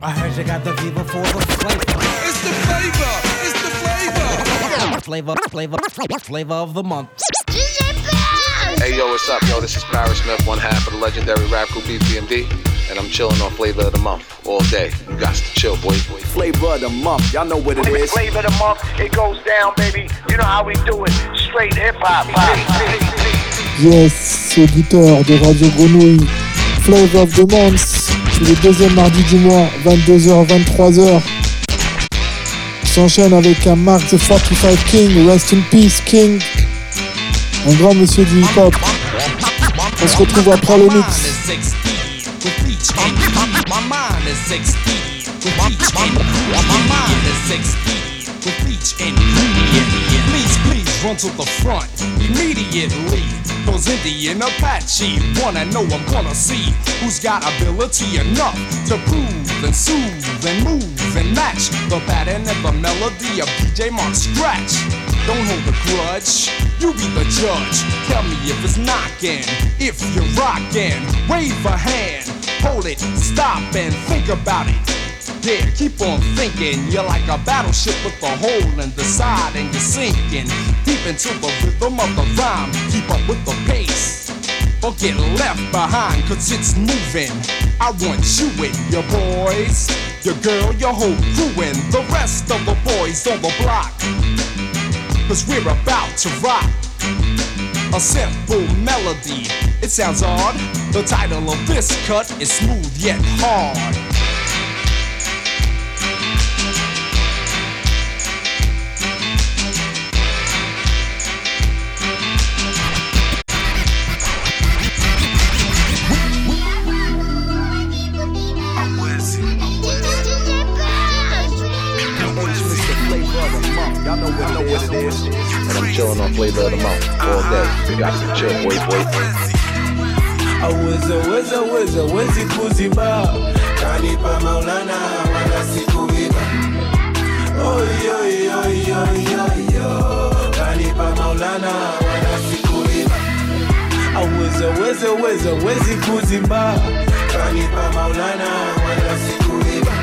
I heard you got the fever for the flavor. It's the flavor. It's the Flavor of the month. Hey yo, what's up? Yo, this is Paris Smith, one half of the legendary rap group BPMD, and I'm chilling on Flavor of the Month all day. You got to chill, boy. Flavor of the Month, y'all know what it is. Flavor of the Month, it goes down, baby. You know how we do it. Straight hip-hop. Yes, auditeur de Radio Grenouille. Flavor of the Month, c'est le deuxième mardi du mois, 22h, 23h. S'enchaîne avec un Mark the 45 King, Rest in Peace King, un grand monsieur du hip-hop. On se retrouve après le mix. Please run to the front immediately. Cause Indian Apache wanna know, I'm gonna see who's got ability enough to prove and soothe and move and match the pattern and the melody of DJ Mark Scratch. Don't hold a grudge, you be the judge. Tell me if it's knocking, if you're rocking. Wave a hand, hold it, stop and think about it. Yeah, keep on thinking. You're like a battleship with a hole in the side and you're sinking deep into the rhythm of the rhyme. Keep up with the pace or get left behind, cause it's moving. I want you and your boys, your girl, your whole crew, and the rest of the boys on the block, cause we're about to rock a simple melody. It sounds odd. The title of this cut is Smooth Yet Hard. Y'all know what it is. And I'm chilling on Flavor of the Month all day. You got to chill, boy. Awezi kuziba kanipa Maulana wala sikuiba. Oyo kanipa Maulana wala sikuiba. Awezi kuziba kanipa Maulana wala sikuiba.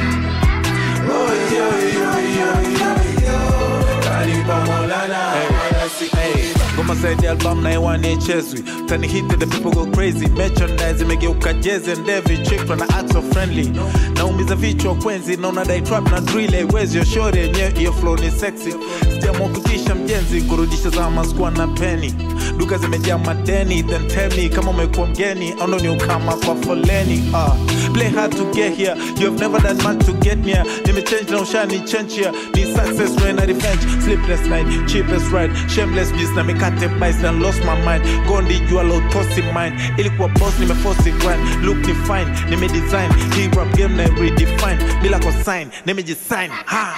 Oyo kanipa Maulana wala sikuiba. Goma said the album na iwane cheswi. Tani hit the people go crazy. Merchandise imegeuka jazz and every chick tryna act so friendly. Naumiza vichwa kwenzi, naona dai trap na drill. Where's your shorty? Yenye iyo flow ni sexy. Sijamwa kutisha mjenzi, kurudisha zama sikuwa na penny. Duka zimejaa madeni, then tell me kama umekuwa mgeni au ndo ni ukama kwa foleni. Play hard to get here, you have never done much to get near. Nimechange na ushani change here. Need success when I revenge. Sleepless night, cheapest ride, shameless beast na mikate bites and lost my mind. Gondi you allow tossy mind. Ilikuwa boss nimeforce grind. Look ni fine, nimedesign. Hii rap game na redefine. Bila kwa sign, nimejisign. Ha!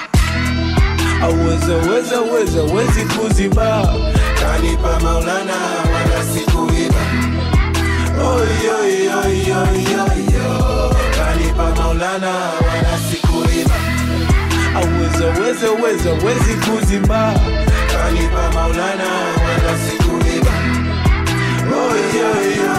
Awezi kuziba kanipa Maulana wala sikuiba. Oyo kanipa Maulana wala sikuiba. Awezi kuziba kanipa Maulana wala sikuiba. Oyo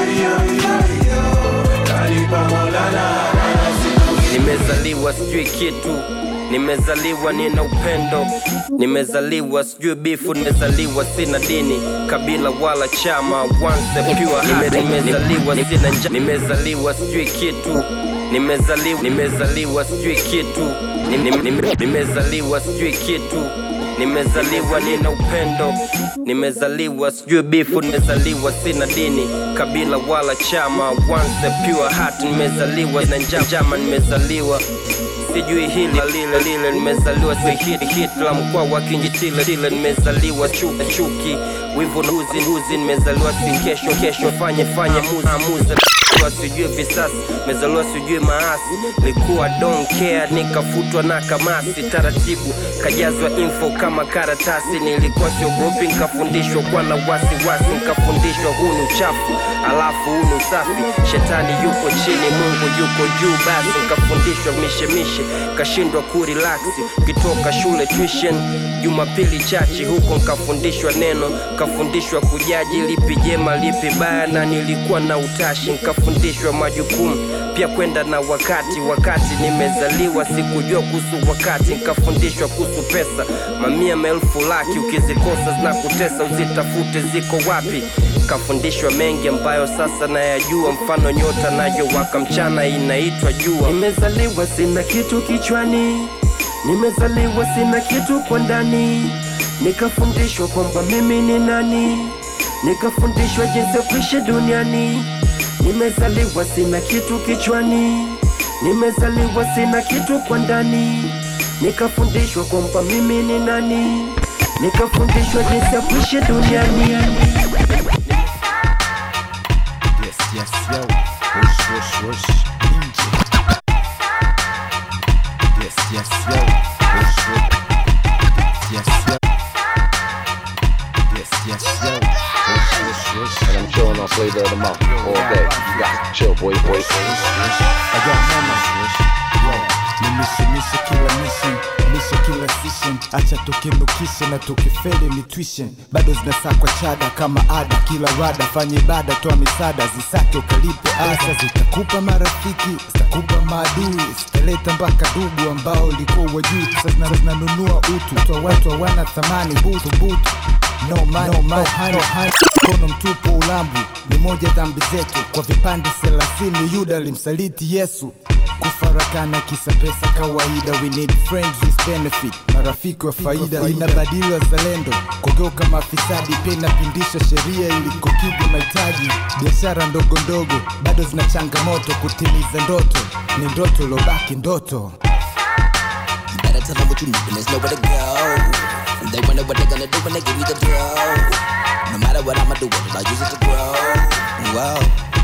kanipa Maulana wala sikuiba. Nimezaliwa sijui kitu, nimezaliwa nina upendo, nimezaliwa sijui bifu, nimezaliwa sina dini, kabila wala chama, once pure. Nimezaliwa sina njaa, nimezaliwa sijui kitu, nimezaliwa sijui kitu, nimezaliwa sijui kitu, nimezaliwa nina upendo, nimezaliwa sijui bifu, nimezaliwa sina dini, kabila wala chama, once pure heart. Nimezaliwa na njama, nimezaliwa sijui hili lile, nimezaliwa si hit la mkwa wa kinjitile, nimezaliwa chuki wivu huzi, nimezaliwa si kesho fanye muza sijui visasi, mezaliwa sijui maasi. Likuwa don't care, nikafutwa na kamasi. Taratibu kajazwa info kama karatasi. Nilikuwa siogopi, nikafundishwa kwa na wasi. Nikafundishwa huu ni uchafu, alafu huu ni usafi. Shetani yuko chini, Mungu yuko juu. Basi nikafundishwa mishe, kashindwa kurelax. Kitoka shule tuition, Jumapili chachi, huko nikafundishwa neno. Kafundishwa kujaji lipi jema lipi baya, na nilikuwa na utashi. Nkafundishwa majukumu pia kwenda na wakati nimezaliwa sikujua kuhusu wakati. Nkafundishwa kuhusu pesa, mamia maelfu laki, ukizikosa zinakutesa, uzitafute ziko wapi. Kafundishwa mengi ambayo sasa nayajua, mfano nyota nayo waka mchana inaitwa jua. Nimezaliwa sina kitu kichwani, nimezaliwa sina kitu kwa ndani. Nikafundishwa kwamba mimi ni nani, nikafundishwa jinsi ya kuishi duniani. Nimezaliwa sina kitu kichwani, nimezaliwa sina kitu kwa ndani. Nikafundishwa kwamba mimi ni nani, nikafundishwa jinsi ya kuishi duniani. Yes, yo. Rush. Ninja. Yes, yo. Rush. Yes, yo. Yes, yo. Rush. And I'm chilling on Flavor of the Month all day. You got to chill, boy. I got mama. Nimishimisha kila mission, misha kila session. Acha tukinukisha na tukifeli ni tuition. Bado zinasakwa chada kama ada, kila rada fanya ibada, toa misada, zisake ukalipe asa. Zitakupa marafiki, zitakupa maadui, zitaleta mpaka dugu ambao ulikuwa wajui. Sasa zinanunua utu, toa watu hawana thamani, butu. No money, kono mtupu ulambu, ni moja dhambi zetu. Kwa vipande 30 Yuda alimsaliti Yesu. Kufarakana kisa pesa kawaida, we need friends with benefit, marafiki wa faida. Inabadili wazalendo, kugeuka mafisadi, pia inapindisha sheria ili kukidhi mahitaji. Biashara ndogo bado zina changamoto, kutimiza ndoto ni ndoto lobaki ndoto. You better tell them what you need and there's nowhere to go. They wonder what they're gonna do when they give you the dough. No matter what I'ma do with it, I use it to grow. Whoa,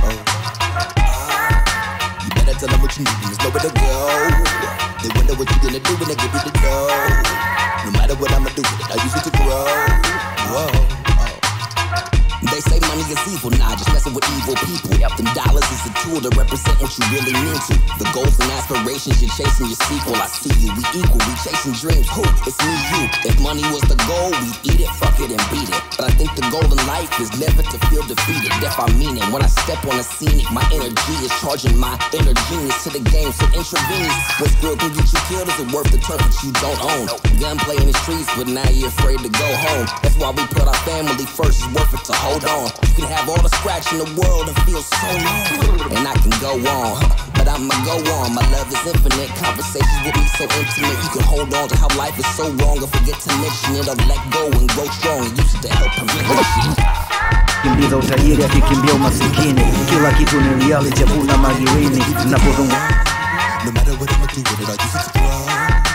you better tell them what you need and there's nowhere to go. They wonder what you're gonna do when they give you the dough. No matter what I'ma do with it, I use it to grow. Whoa. They say money is evil, nah, just messing with evil people. Them dollars is a tool to represent what you really mean to. The goals and aspirations, you're chasing your sequel. I see you, we equal, we chasing dreams. Who? It's me, you. If money was the goal, we'd eat it, fuck it and beat it. But I think the goal in life is never to feel defeated. If I mean it, when I step on a scenic, my energy is charging my inner genius to the game, so intravenous. What skill can get you killed? Is it worth the turf that you don't own? Gunplay in the streets, but now you're afraid to go home. That's why we put our family first, it's worth it to hold on. You can have all the scratch in the world and feel so long, and I can go on, but I'ma go on. My love is infinite, conversations with me so intimate. You can hold on to how life is so wrong and forget to mention it, or let go and grow strong and use it to help prevent shit. Kimbiza utajiri akikimbia umasikini, kila kitu ni reality, hakuna magirini. Napozungumza no matter what I'ma do with it, I use it to grow.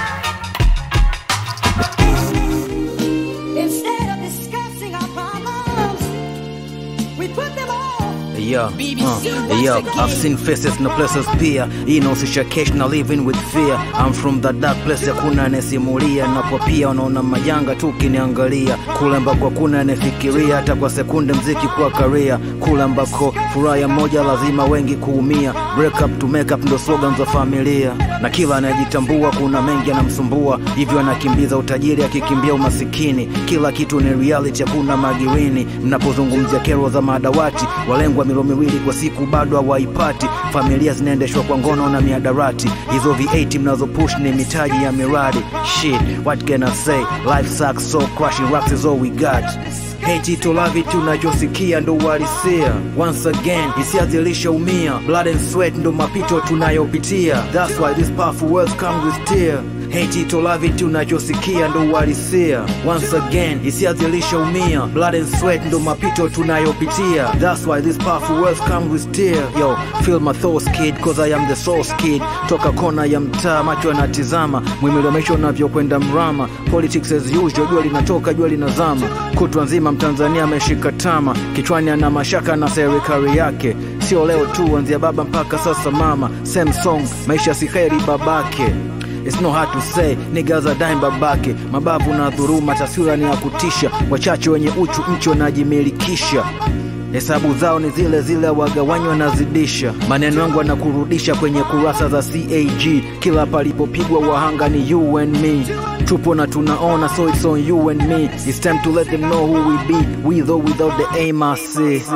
Yeah, I've seen faces no places pia. Inahusisha cash na living with fear. I'm from the dark place, hakuna anesimulia. Na kwa pia unaona majanga tu kiniangalia. Kule ambako hakuna anefikiria, hata kwa sekunde mziki kwa career. Kule ambako furaha ya moja lazima wengi kuumia. Break up to make up ndo slogans za familia. Na kila anajitambua kuna mengi anamsumbua, hivyo anakimbiza utajiri akikimbia umasikini. Kila kitu ni reality, hakuna magirini. Mnapozungumzia kero za madawati, walengwa milo miwili kwa siku bado hawaipati. Familia zinaendeshwa kwa ngono na miadarati. Hizo V8 mnazo push ni mitaji ya miradi. Shit, what can I say? Life sucks, so crushing rocks is all we got. Hate it or love it, tunachosikia ndo uhalisia. Once again, hisia zilishaumia. Blood and sweat ndo mapito tunayopitia. That's why this powerful words come with tear. Hate it or love it, tunachosikia ndo uhalisia. Once again, hisia zilishaumia. Blood and sweat ndo mapito tunayopitia. That's why this powerful words come with tear. Yo, feel my thoughts kid, cause I am the source kid. Toka kona ya mtaa, macho yanatizama. Mwimilomesho unavyokwenda mrama. Politics as usual, jua linatoka, jua linazama. Kutwa nzima Mtanzania ameshika tama. Kichwani ana mashaka na serikali yake. Sio leo tu, anzia baba mpaka sasa mama. Same song, maisha si kheri babake. It's no hard to say, niggas are dying babake. Mabavu na dhuruma, taswira ni ya kutisha. Wachache wenye uchu nchi wanajimilikisha. Hesabu zao ni zile zile, wagawanywa na zidisha. Maneno yangu yanakurudisha kwenye kurasa za CAG. Kila palipopigwa wahanga ni you and me. tupo na tunaona, so it's on you and me. It's time to let them know who we be, with or without the aim I see. Yo,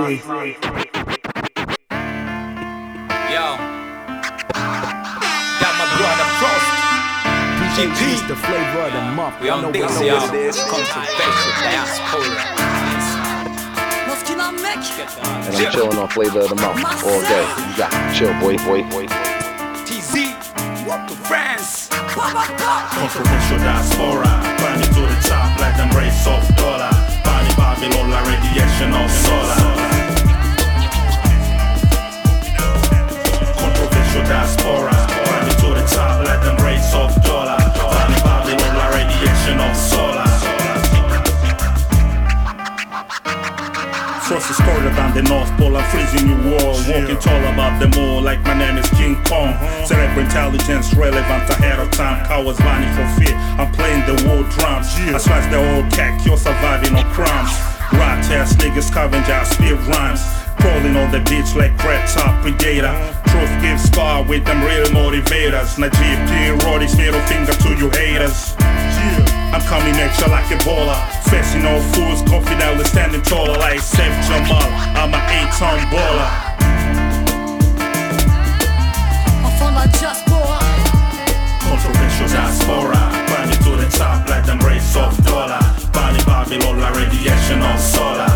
got my brother Frost, GP, the flavor of the month. we on this, yo. Controversial diaspora. And I'm chilling on Flavor of the Month all day. You got to chill, boy. TZ, walk to France. Controversial diaspora, climbing to the top like them race of dollar. Body Babylon, la radiation of solar. Controversial diaspora, climbing to the top like them race of dollar. Body Babylon, la radiation of solar. Frost is colder than the North Pole, I'm freezing you all. Walking tall above them all like my name is King Kong. Cerebral intelligence relevant ahead of time. Cowards vanish for fear, I'm playing the war drums. I slice the old cat, you're surviving on crumbs. Rat ass niggas scavenger, spit rhymes. Crawling on the beach like red top predator. Truth gives power with them real motivators. Najib P. Roddy's middle finger to you haters. I'm coming at you like Ebola. Facing all fools, confidently standing taller like Seth Jamal. I'm an 8-ton baller. Enfant de la diaspora. Controversial diaspora, climbing to the top like them race of dollar. Body Babylon, la radiation of solar.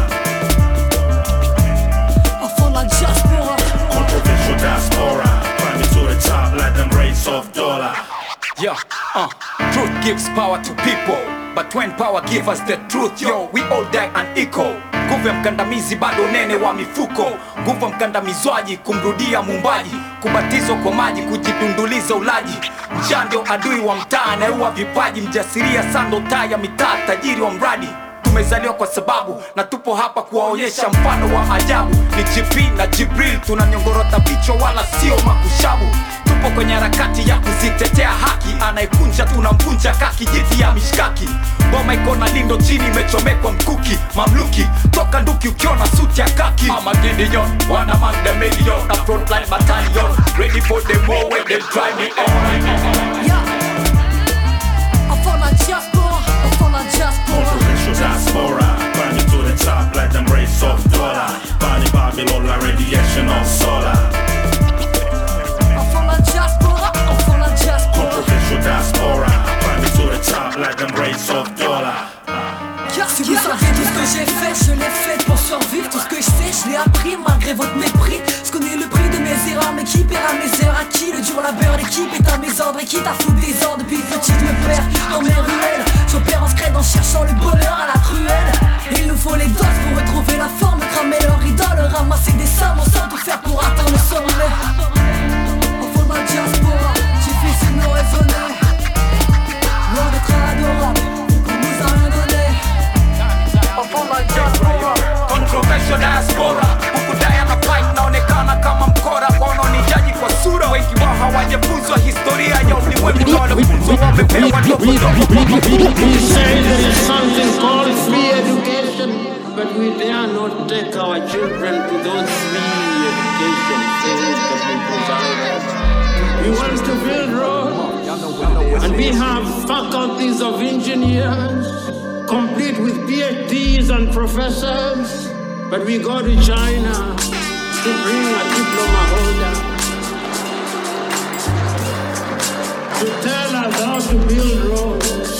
Enfant de la diaspora. Controversial diaspora, climbing to the top like them race of dollar. Yeah, truth gives power to people, but when power gives us the truth, yo, we all die unequal. Nguvu ya mkandamizi bado nene wa mifuko. Nguvu ya mkandamizwaji kumrudia mumbaji. Kubatizwa kwa maji, kujidunduliza ulaji. Njaa ndio adui wa mtaa, anayeua vipaji. Mjasiria sando taa ya mitaa, tajiri wa mradi. Tumezaliwa kwa sababu, na tupo hapa kuwaonyesha mfano wa ajabu. Ni GP na Jibril, tunanyongorota vichwa wala sio makushabu. Tupo kwenye harakati ya kuzitetea haki. Anayekunja tunamvunja kaki, jiti ya mishkaki. Boma iko na lindo chini, imechomekwa mkuki. Mamluki, toka nduki ukiona suti ya kaki. I'm a Gideon, one among the million. A frontline battalion, ready for them war when they try me on. Enfant de la diaspora. Enfant de la diaspora. Controversial diaspora, climbing to the top like them race of dollar. Body Babylon, la radiation of solar. Controversial diaspora, climbing to the top like them race of dollar. Si vous savez tout ce que j'ai fait, je l'ai fait pour survivre. Tout ce que je sais, je l'ai appris malgré votre mépris. Je connais le prix de mes erreurs, mais qui paiera mes heures? À qui le dur labeur? L'équipe est à mes ordres et qui t'a foutu des ordres. Depuis petit, je me perds dans mes ruelles. J'opère en scred en cherchant le bonheur à la truelle. Il nous faut les doses pour retrouver la forme, cramer leur idole, ramasser des sommes, on sait tout faire pour atteindre le sommet. Enfant de la diaspora, difficile de raisonner. Loin d'être adorable, qu'on nous a rien donné. Enfant de la diaspora. Controversial diaspora, ukudaya na fight naonekana kama mkora. Wanaonijaji kwa sura, wengi wao hawajafunzwa historia ya ulimwengu. Wanafunzwa wamepewa ndoto. We say there is something called free education, but we dare not take our children to those free education things that we provide. We want to build roads, and we have faculties of engineers, complete with PhDs and professors, but we go to China to bring a diploma holder to tell us how to build roads.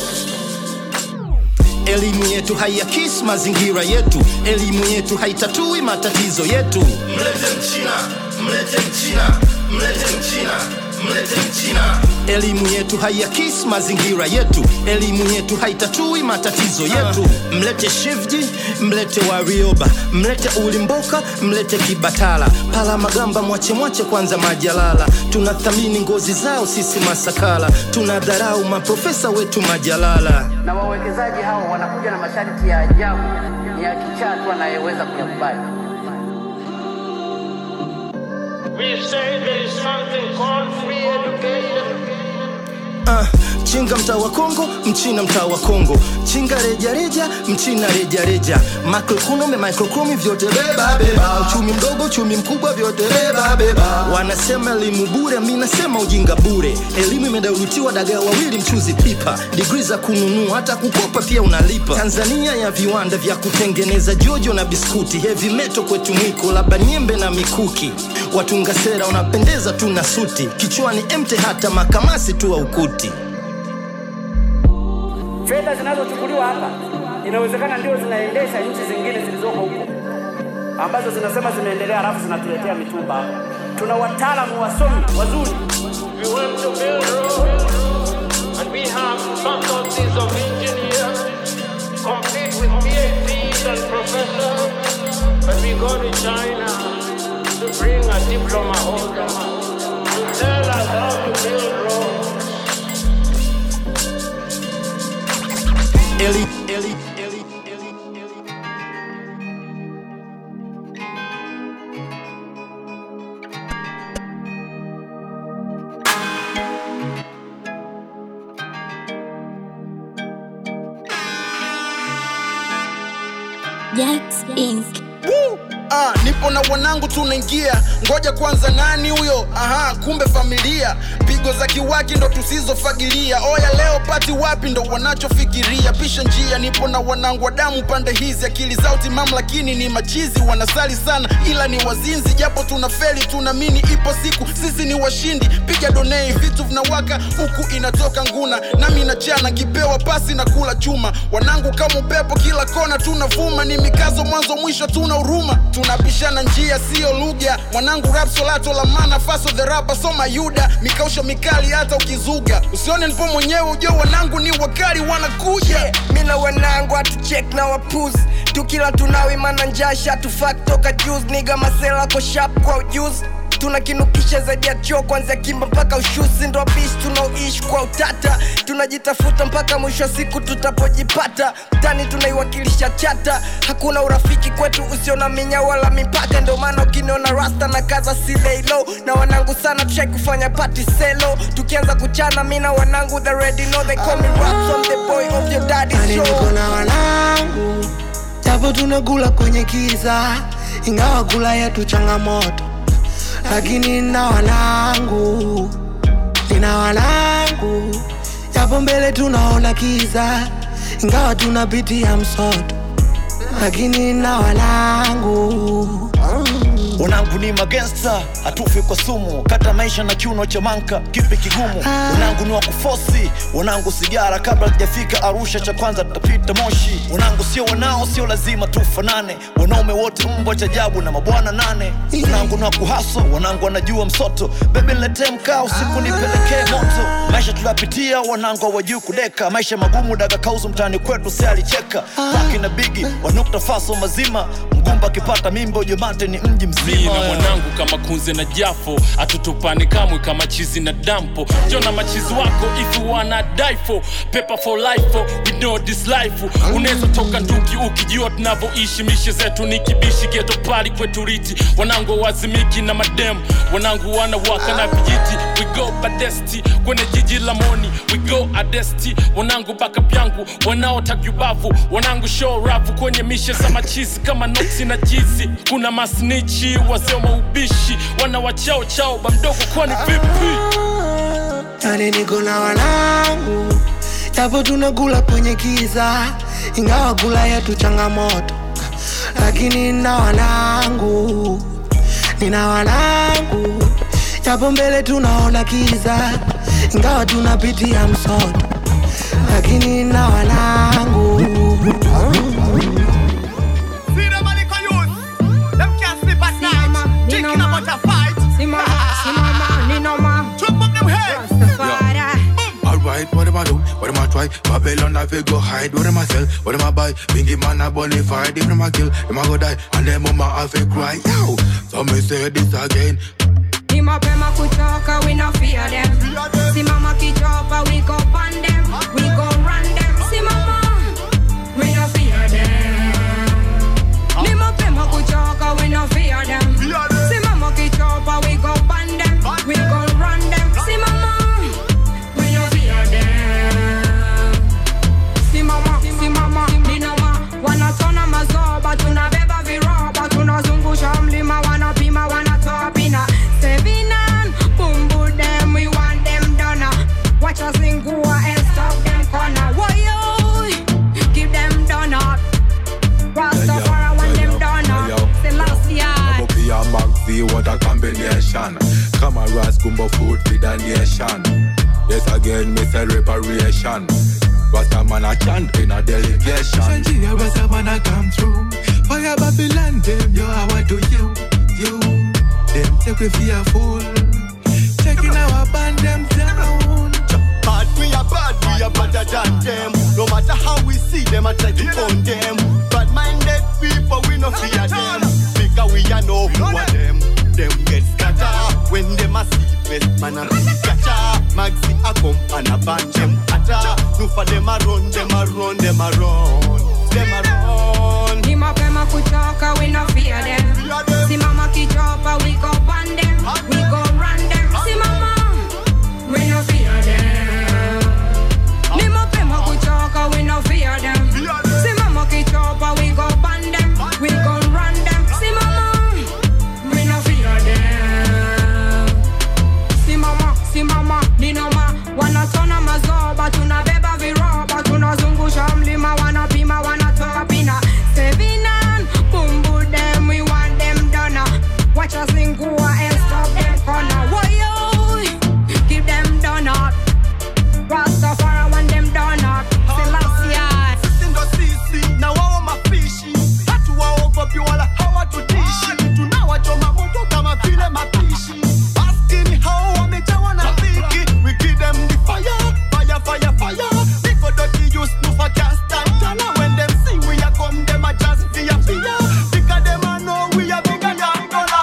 Elimu yetu haiakisi mazingira yetu. Elimu yetu haitatui matatizo yetu. Mlete Mchina, mlete Mchina, mlete Mchina, mlete Mchina. Elimu yetu haiakisi mazingira yetu. Elimu yetu haitatui matatizo yetu. Mlete Shivji, mlete Warioba, mlete Ulimboka, mlete Kibatala. Pala Magamba mwache kwanza Majalala. Tunathamini ngozi zao sisi Masakala. Tunadharau maprofesa wetu Majalala. Na wawekezaji hao wanakuja na masharti ya ajabu, ni ya kichaa tu anayeweza kuyakubali. We say there is something called free education. Chinga mtaa wa Kongo, Mchina mtaa wa Kongo. Chinga reja, Mchina reja. Macroeconomy, vyote beba. Uchumi mdogo, uchumi mkubwa, vyote beba. Wanasema elimu bure, mimi nasema ujinga bure. Elimu imedalutiwa dagaa wawili mchuzi pipa. Degree za kununua hata kukopa pia unalipa. Tanzania ya viwanda vya kutengeneza jojo na biskuti. Heavy metal kwetu mwiko, labda nyembe na mikuki. Watunga sera unapendeza tu na suti. Kichwani empty hata makamasi tu au kuti. Fedha zinazochukuliwa hapa inawezekana ndio zinaendesha nchi zingine zilizoko huko ambazo zinasema zimeendelea, halafu zinatuletea mitumba hapa. Tuna wataalamu wasomi wazuri. We want to build roads and we have faculties of engineers complete with PhDs and professors, but we go to China to bring a diploma holder to tell us how to build roads. Eli. Jax Inc. Nipo na wanangu tunaingia. Ngoja kwanza nani huyo? Kumbe familia. Pigo za kiwaki ndo tusizofagilia. Oya leo pati wapi ndo wanachofikiria. Pisha njia, nipo na wanangu wa damu pande hizi. Akili zao timamu lakini ni machizi. Wanasali sana ila ni wazinzi. Japo tunafeli tunamini ipo siku sisi ni washindi. Piga donei vitu vinawaka huku inatoka nguna. Nami nachana kipewa pasi na kula chuma. Wanangu kama upepo kila kona tunavuma. Ni mikazo mwanzo mwisho tuna huruma. Tunapishana njia sio lugha. Mwanangu rap solato la mana faso the rapper soma yuda. Mikausho mikali hata ukizuga. Usione nipo mwenyewe ujue wanangu ni wakali wanakuja. Mina wanangu atucheck na wapuzi. Tukila tunawi mana njasha tufak toka juice. Niga masela ko sharp kwa ujuzi. Tunakinukisha zaidi ya choo kwanza kimba mpaka ushusi. Ndo bish tunaoishi kwa utata. Tunajitafuta mpaka mwisho siku tutapojipata. Mtani tunaiwakilisha chata. Hakuna urafiki kwetu usio na minya wala mipaka. Ndo maana ukiniona rasta na kaza si lay low. Na wanangu sana tushai kufanya party selo. Tukianza kuchana mina wanangu they already know. They call me Raps, I'm the boy of your daddy's show. Niko na wanangu japo tunakula kwenye kiza. Ingawa kula yetu changamoto lakini nina wanangu japo mbele tunaona kiza. Ingawa tunapitia msoto lakini nina wanangu. Wanangu ni magangster, hatufi kwa sumu. Kata maisha na kiuno cha manka, kipi kigumu. Wanangu ni wakufosi, wanangu sigara. Kabla tujafika Arusha cha kwanza tutapita Moshi. Wanangu sio wanao, sio lazima tufanane. Wanaume wote mbwa cha ajabu na mabwana nane. Wanangu ni wakuhaso, wanangu wanajua msoto. Baby niletee mkaa usiku nipelekee moto. Maisha tunapitia, wanangu hawajui kudeka. Maisha magumu daga kauzu mtani kwetu si alicheka. Paki na bigi, wanukta faso mazima. Mgumba kipata mimbo jomate ni mji mzima. Na mwanangu kama kunze na jafo. Atutupane kamwe kama chizi na dampo. Jona machizi wako if you wanna die for. Paper for life for, we know this life. Unaweza toka nduki ukijua tunavyoishi. Mishe zetu ni kibishi ghetto party kwetu riti. Wanangu wazimiki na madem. Wanangu wanawaka na vijiti. We go badesti kwenye jiji la moni. We go adesti. Wanangu backup yangu wanaotaka yubavu. Wanangu show rafu kwenye mishe za machizi kama noksi na jizi. Kuna masnichi wazee wa ubishi wanawachao chao bamdogo kwani vipi. Yani niko na wanangu japo tunakula kwenye kiza. Ingawa kula yetu changamoto lakini nina wanangu japo mbele tunaona kiza. Ingawa tunapitia msoto lakini nina wanangu. Alright, what am I do? What am I try? Babylon I feel go hide. What am I sell? What am I buy? Bingy man I bonafide. If them I kill, them I go die. And them mama I feel cry. Yo, so me say this again. Ni mapema kutoka, we no fear them. Si mama kichopa, we go pan them. We go run them. Si mama, we no fear them. Ni mapema kutoka, we no fear them. Si mama kichopa, we go pan them. We go run them. Si mama, we no fear them. Si mama, ni nama. Wanatona mazoba, tunabeba viroba. Tunazungusha mlima, wanapima, wanatoa pina. Sevina Cameras gumbo food for the nation. Yes again, me say reparation. Rasta man a chant in a delegation. Nigeria Rasta man a come through. Fire Babylon them, yo I want to you. Them take we for a fool. Checking our band them down. Bad we are better than them. No matter how we see them, I try to own them. Bad minded people, we no fear them. Because we are know who are them. Them get scatter when them a see best man a be catcher. Maxi a come and a ban them atta. No for them a run, them a run, them a run, them a run. Ni mapema kuchoka, we no fear them. Si mama kichopa, we go ban them, we go run them. Si mama, we no fear them. Ni mapema kuchoka, we no fear them. Si mama kichopa, we go ban them, we go run them. Si mama, we no fear them. Si mama, ni noma, wanatona mazoba, tunabeba viroba, tunazungusha mlima, wanapima, wanatoa pina. Sevinan, bumbu them, we want them done. Watch us lingua and stop them corner. Whoa, keep them done up. Rastafari want them done up. Selassie. Sindo sisi, na wao mapishi. Hatu wao gopi wala hawa tutishi. Tunawachoma moto kama vile mapishi. Askini hao wamejawa na dhiki. We give them the fire, fire, fire, fire. Niko doti use nufa cast and tana. When them see we are come, them a just fear, fear. Because them a know we are bigger than dollar.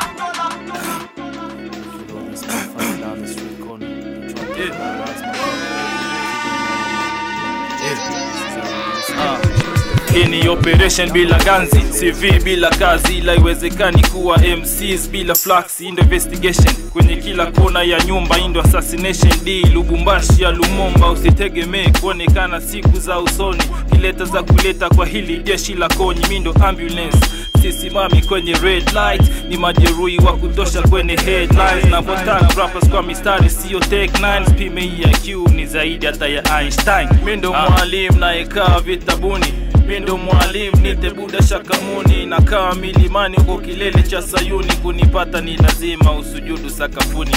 Hii ni operation bila ganzi, CV bila kazi, ila iwezekani kuwa MCs bila flax. Indo investigation kwenye kila kona ya nyumba, indo assassination D Lubumbashi ya Lumumba. Usitegemee kuonekana siku za usoni, kileta za kuleta kwa hili jeshi la konyi. Mindo ambulance, sisimami kwenye red light, ni majeruhi wa kutosha kwenye headlines. Na botan rappers kwa mistari sio take 9, pime ya Q ni zaidi hata ya Einstein. Mindo mwalimu na ekaa vitabuni, mindo mwalimu nite Buda Shakamuni. Nakaa milimani huko kilele cha Sayuni, kunipata ni lazima usujudu sakafuni.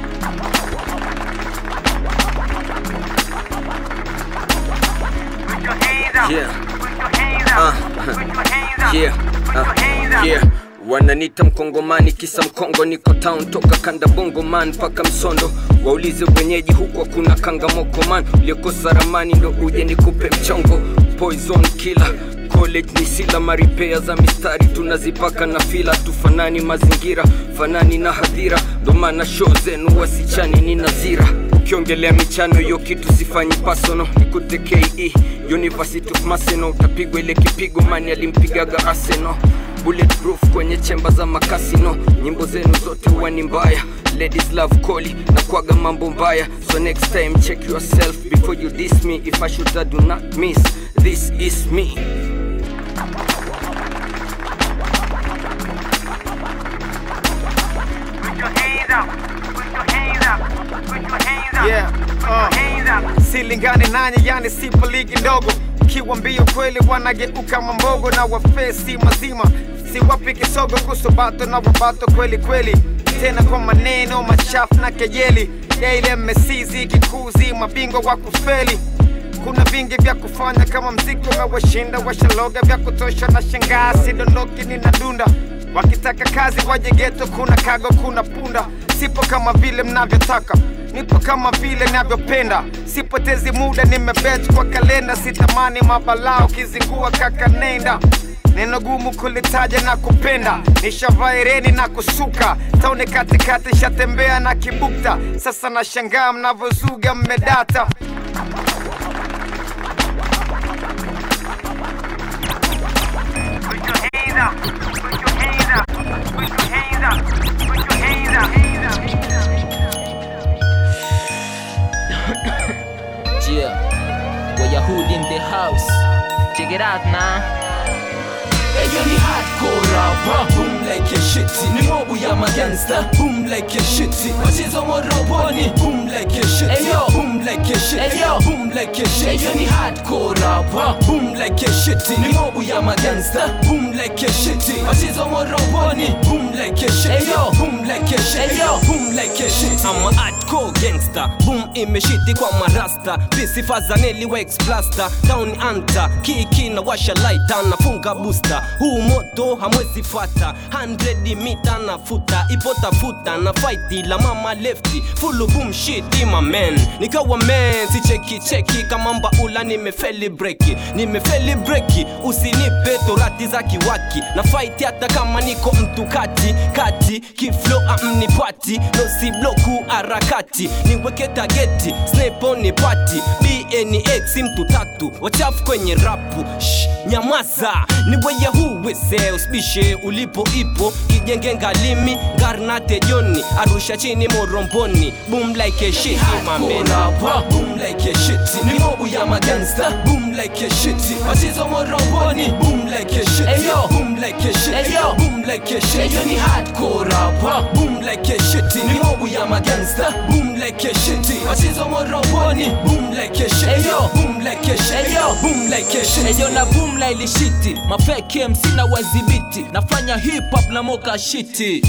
Yeah. Wananita mkongomani kisa mkongo, niko town toka kanda bongo man paka Msondo. Waulize wenyeji huko kuna kangamoko man, uliokosa ramani ndo uje nikupe mchongo. Poison killer college ni sila, maripea za mistari tunazipaka na fila. Tufanani mazingira, fanani na hadhira, ndo maana show zenu wasichani ni nazira. Ukiongelea michano yo kitu sifanyi pasono, nikute KE University of Maseno. Utapigwa ile kipigo mani alimpigaga Arsenal. Bulletproof kwenye chemba za makasino, nyimbo zenu zote wani mbaya. Ladies love Koli na kwaga mambo mbaya. So next time check yourself before you diss me. If I should I do not miss, this is me. Silingane nanye yani sipo ligi ndogo. Kiwa mbio kweli wanageuka mambogo, na wafesi mazima si wapi kisogo. Kusubato na wabato kweli kweli, tena kwa maneno machafu na kejeli. Ya ile mesizi kikuzi mabingwa wa kufeli. Kuna vingi vya kufanya kama mziki umewashinda. Washaloga vya kutosha na shangaa, sidondoki ninadunda. Wakitaka kazi waje ghetto, kuna kago kuna punda. Sipo kama vile mnavyotaka, nipo kama vile navyopenda. Sipotezi muda nimebet kwa kalenda, sitamani mabalao kizingua kaka nenda. Neno gumu kulitaja na kupenda, nishavaireni na kusuka. Taone katikati shatembea na kibukta. Sasa na shangaa mnavozuga mmedata. Wayahudi in the house. Check it out now. Ellos ni hardcore rap, boom like a shitty. Ni mobu ya magangster, boom like a shitty. Wachizo moroboni, boom like a shitty. Ayo, boom like a shitty. Ayo, boom like a shitty. Ayo ni hardcore rapper, boom like a shitty. Ni mobu ya magangster, boom like a shitty. Wachizo moroboni, boom like a shitty. Ayo, boom like a shitty. Ayo, boom like a shitty. I'm a hardcore gangster, boom imeshiti kwa marasta. Bisi fazaneli wax plaster, down anta. Kiki na washa lighter, nafunga booster. Huu moto hamwezi fata, 100 mita na futa. Ipota futa na fighti la mama lefty. Full boom shit my man. Nikawa man, si cheki kama mbaula nimefeli breki. Usinipe torati za kiwaki. Na fight hata kama niko mtu kati. Kiflow amnipati, no si bloku harakati. Niweke tageti, snipe on party. BNX mtu tatu, wachafu kwenye rapu. Nyamaza, niweye huweze uspishe ulipo ipo. Kijenge ngalimi, garnate joni. Arusha chini moromboni, boom like a shit my man. Boom like a shitty. Ni mobu ya magangster, boom like a shitty. Wachizo moroboni, boom like a shitty. Ayo, boom like a shitty. Ayo, boom like a shitty. Ayo ni hardcore rapper, boom like a shitty. Ni mobu ya magangster, boom like a shitty. Wachizo moroboni, boom like a shitty. Ayo, boom like a shitty. Ayo, boom like a shitty. Ayo na boom like shitty. Mafake MC na wazibiti. Nafanya hip hop na moka shitty.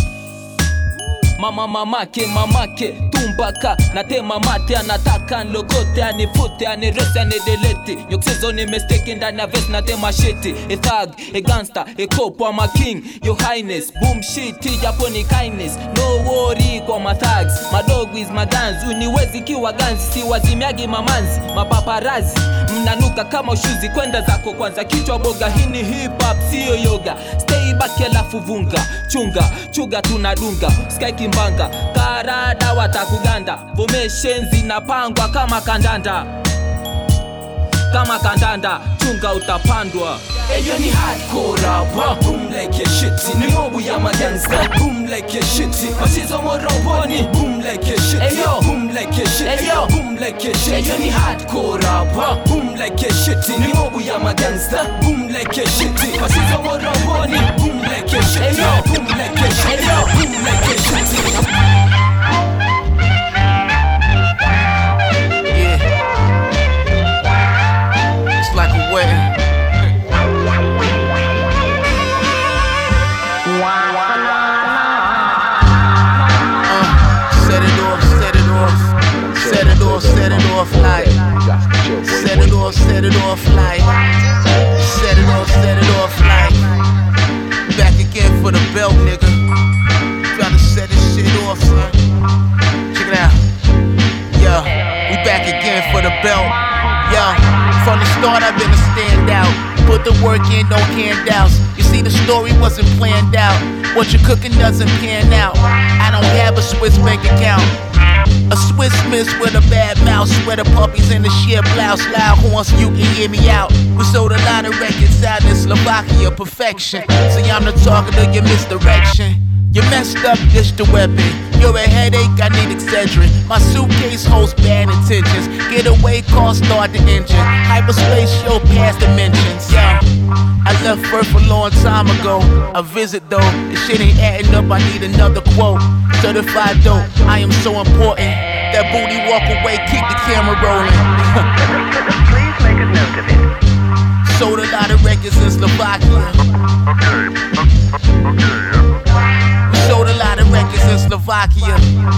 Mamake tumbaka natema mate anataka nlogote anifute anirese anidelete yokusezo ni mistake ndani ya vest natema shiti a thug a gangster a cop I'm a king your highness boom shit japo ni kindness no worry kwa my thugs my dog is my guns uniwezi kiwa guns si wazimiagi mamanzi mapaparazi mnanuka kama ushuzi kwenda zako kwanza kichwa boga hini hip hop sio yoga stay back alafu vunga chunga tunadunga sky kimbanga karada watakuganda formations zinapangwa kama kandanda chunga utapandwa. Ayo ni hardcore rapper, boom like a shitty. Ni mobu ya magangster, boom like a shitty. Wachizo moroboni, boom like a shitty. Ayo, boom like a shitty. Ayo, boom like a shitty. Ayo ni hardcore rapper, boom like a shitty. Ni mobu ya magangster, boom like a shitty. Wachizo moroboni, boom like a shitty. Ayo, boom like a shitty. Ayo, boom like a shitty. Like a wedding. Set it off like. Set it off like. Back again for the belt, nigga. Tryna set this shit off, son. Check it out. Yeah, we back again for the belt. Yeah, from the start I've been a standout. Put the work in, no handouts. You see the story wasn't planned out. What you're cooking doesn't pan out. I don't have a Swiss bank account. A Swiss miss with a bad mouse. Sweater puppies in the sheer blouse. Loud horns so you can hear me out. We sold a lot of records out in Slovakia, perfection. See I'm the target of your misdirection. You messed up, ditch the weapon. You're a headache, I need Excedrin. My suitcase holds bad intentions. Getaway car, start the engine. Hyperspace show past dimensions. Yeah, I left Earth a long time ago. A visit though, this shit ain't adding up, I need another quote. Certified dope, I am so important. That booty walk away, keep the camera rolling. Please make a note of it. Sold a lot of records in Slovakia. Sold a lot of records in Slovakia.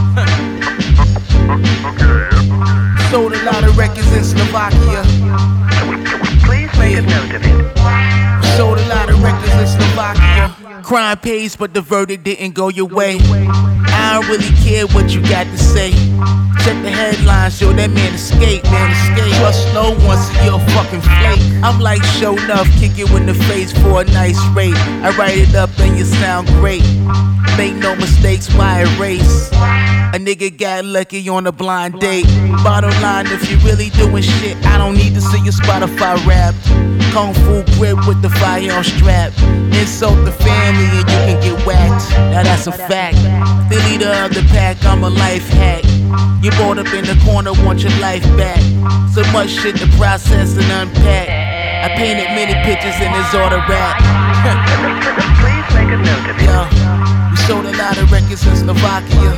Sold a lot of records in Slovakia. Please make a note of it. Sold a lot of records in Slovakia. Crime pays, but the verdict didn't go your way. I don't really care what you got to say. Check the headlines, yo, that man escaped. Trust no one, so you're a fucking flake. I'm like, show enough, kick you in the face for a nice rate. I write it up and you sound great. Make no mistakes, why erase? A nigga got lucky on a blind date. Bottom line, if you really doing shit, I don't need to see your Spotify rap. Kung Fu grip with the firearm strap. Insult the family and you can get whacked. Now that's a fact. The leader of the pack, I'm a life hack. You brought up in the corner, want your life back. So much shit to process and unpack. I painted many pictures in this auto rap. Yeah, we sold a lot of records in Slovakia.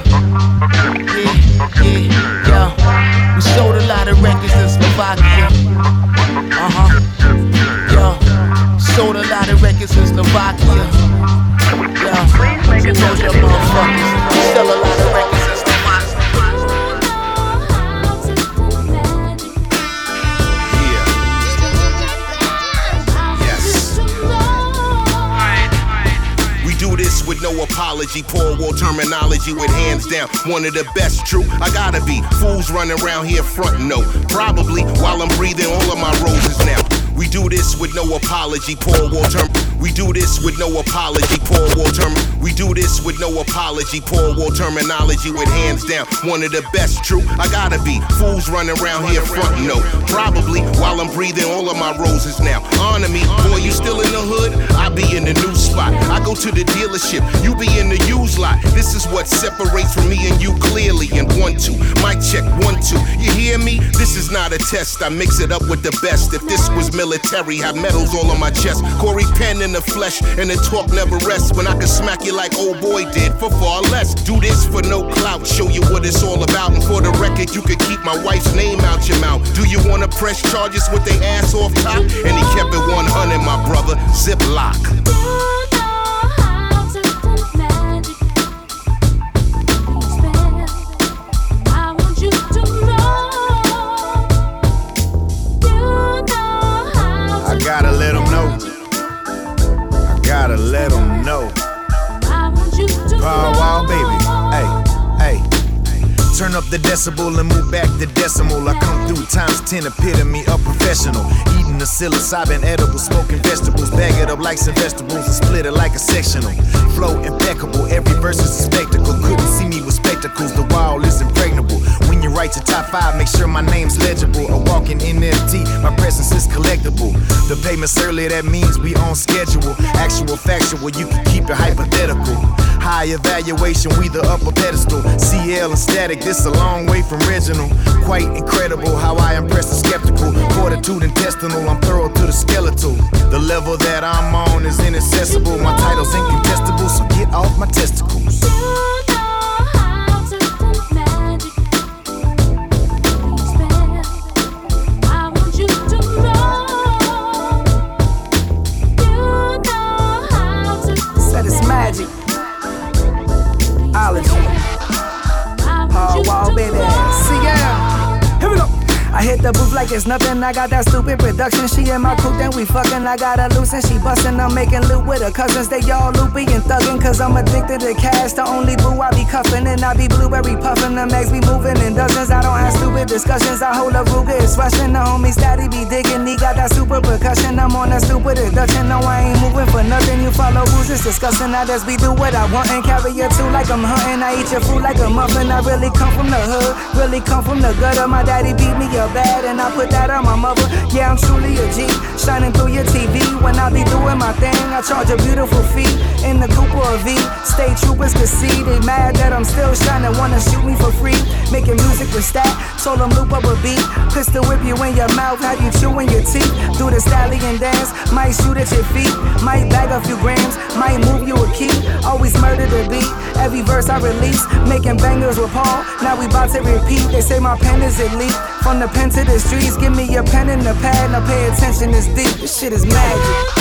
Yeah. We sold a lot of records in Slovakia. Yeah, sold a lot of records in Slovakia. Yeah, so told your motherfuckers, we sell a lot of records in Slovakia. Do this with no apology, poor war terminology with hands down. One of the best, true, I gotta be. Fools running around here frontin', no. Probably while I'm breathing all of my roses now. We do this with no apology, poor war term. We do this with no apology, poor war term. We do this with no apology, poor war terminology with hands down. One of the best, true, I gotta be. Fools running around here frontin', no. Probably while I'm breathing all of my roses now. Honor me, boy, you still in the hood? I be in the new spot. I go to the dealership, you be in the used lot. This is what separates from me and you clearly. And 1, 2, mic check, 1, 2. You hear me? This is not a test. I mix it up with the best. If this was military, have medals all on my chest. Corey Penn in the flesh, and the talk never rests. When I can smack you like old boy did for far less. Do this for no clout, show you what it's all about. And for the record, you could keep my wife's name out your mouth. Do you wanna press charges with their ass off top? And he kept it 100, my brother. Ziploc. Gotta let them know. I gotta let them know. Power wall, baby. Hey. Turn up the decibel and move back the decimal. I come through times 10, epitome of professional. Eating the psilocybin edible, smoking vegetables. Bag it up like some vegetables and split it like a sectional. Flow impeccable, every verse is a spectacle. Couldn't see me with spectacles, the wall is impregnable. When you write your top 5, make sure my name's legible. A walking NFT, my presence is collectible. The payment's early, that means we on schedule. Actual, factual, you can keep it hypothetical. High evaluation, we the upper pedestal. CL and static, this a long way from original. Quite incredible how I impress the skeptical. Fortitude intestinal, I'm thorough to the skeletal. The level that I'm on is inaccessible. My title's incontestable, so get off my testicles. Said it's magic. Hard wall, baby. See ya. Here we go. I hit the booth like it's nothing. I got that stupid production. She in my coupe, then we fucking. I got her loose and she bustin'. I'm making loot with her cousins. They all loopy and thuggin'. Cause I'm addicted to cash. The only boo I be cuffin'. And I be blueberry puffin'. The mags be moving in dozens. I don't have stupid discussions. I hold a Ruger. It's rushin'. The homies daddy be digging. He got that super percussion. I'm on that stupid induction. No, I ain't moving for nothing. You follow rules, it's disgusting. I just be do what I want and carry you too like I'm hunting. I eat your food like a muffin. I really come from the hood. Really come from the gutter. My daddy beat me up bad and I put that on my mother. Yeah, I'm truly a G, shining through your TV. When I be doing my thing, I charge a beautiful fee. In the coupe or a V, state troopers can see. They mad that I'm still shining, wanna shoot me for free. Making music with stat, told them loop up a beat. Pistol whip you in your mouth, have you chewing your teeth. Do the stallion dance, might shoot at your feet. Might bag a few grams, might move you a key. Always murder the beat, every verse I release. Making bangers with Paul, now we bout to repeat. They say my pen is elite, from the pen to the streets. Give me your pen and the pad, now pay attention, it's deep. This shit is magic.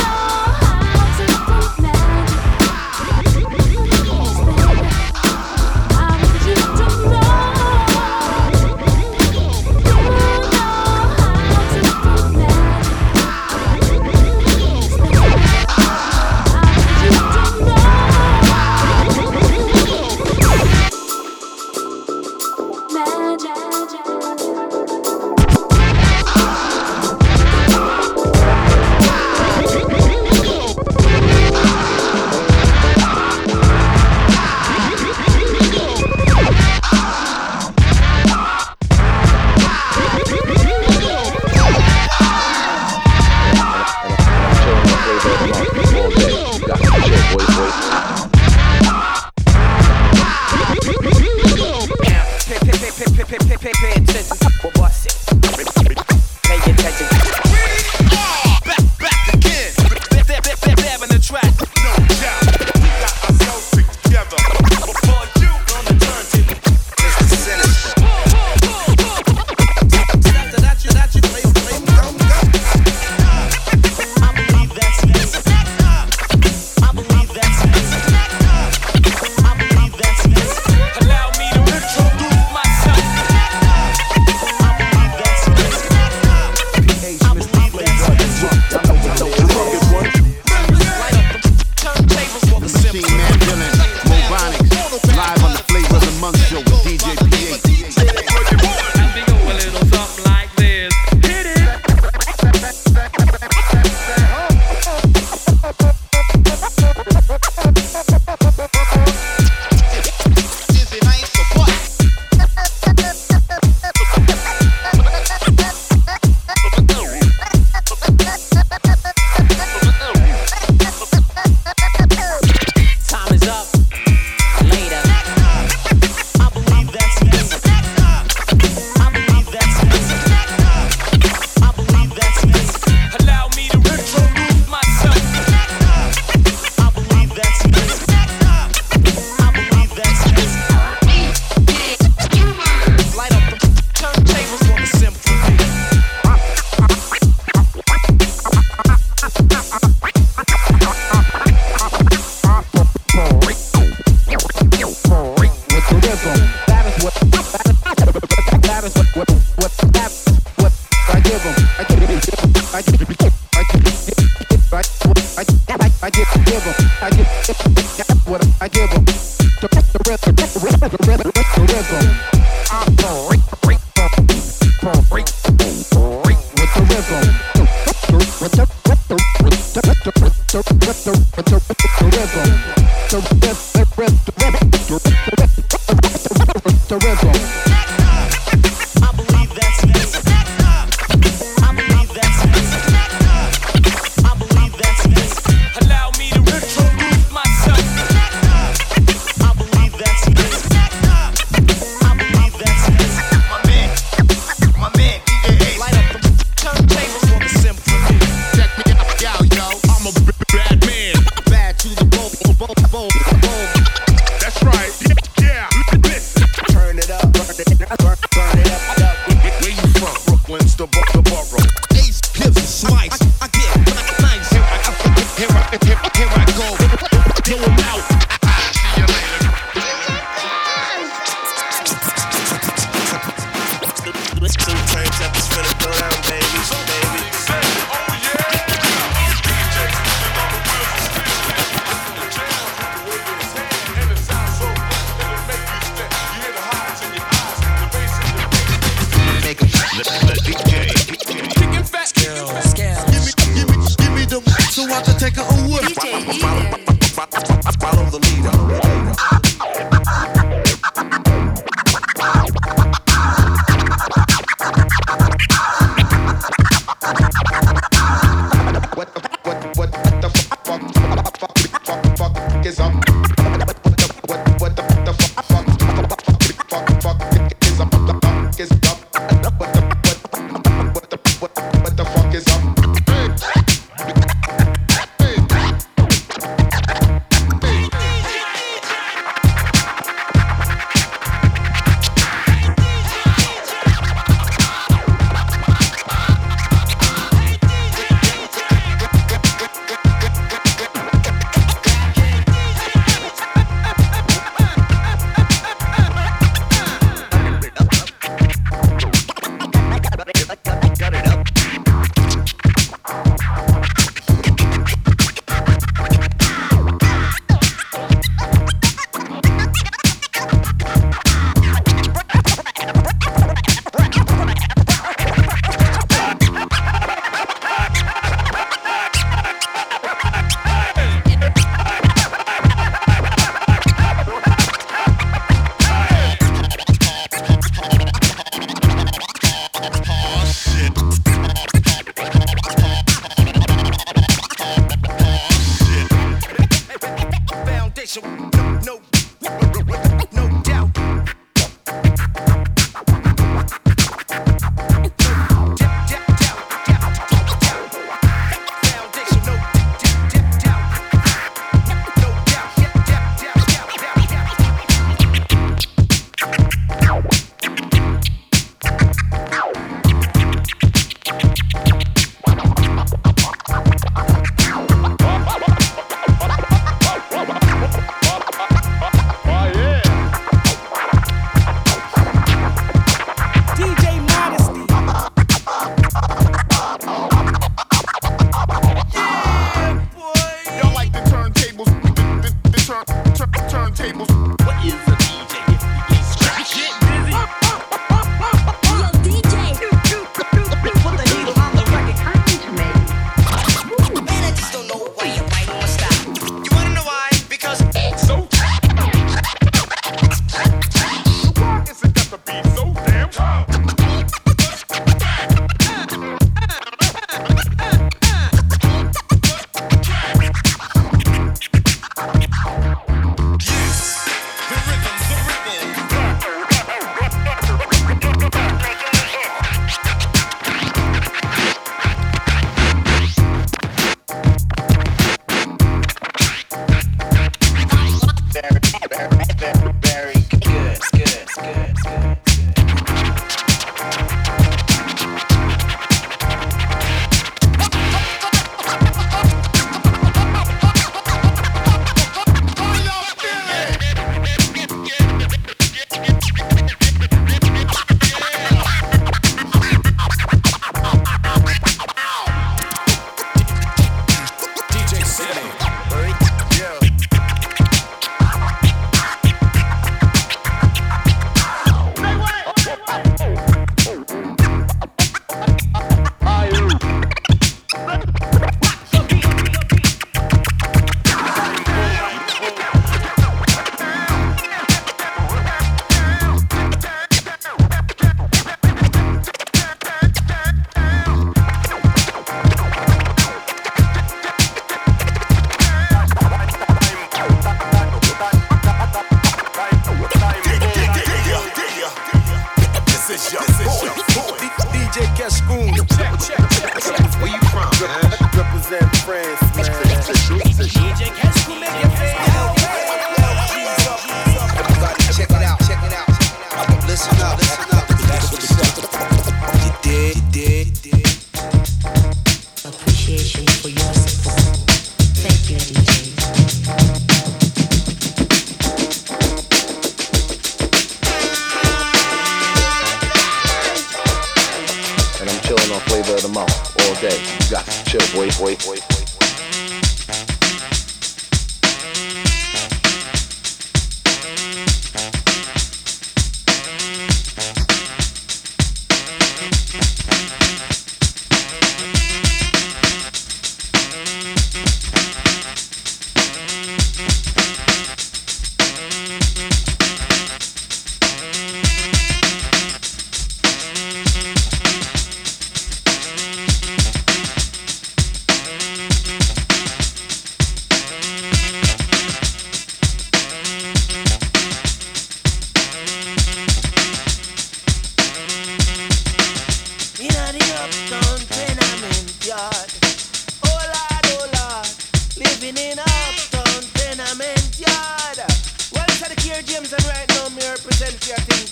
about to take a whip. Follow the leader.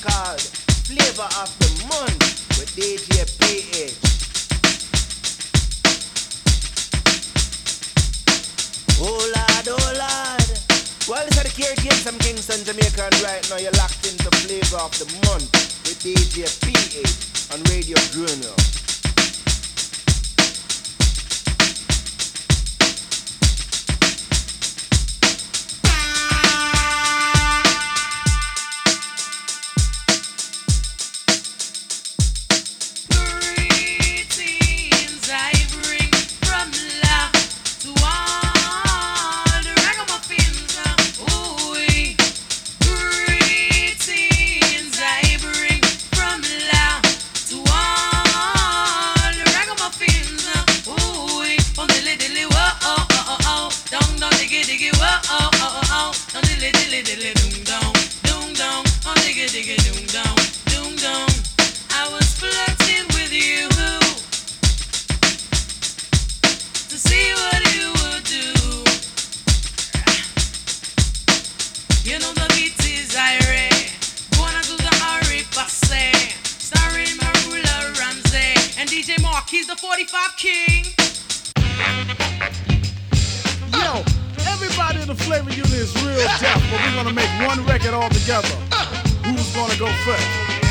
called Flavor of the Month with DJ PH. Oh Lord. Well, this is the Care Games from Kingston, Jamaica, and right now you're locked into Flavor of the Month with DJ PH on Radio Bruno. He's the 45 king. Yo, everybody in the Flavor Unit is real deaf, but we're gonna make one record all together. Who's gonna go first?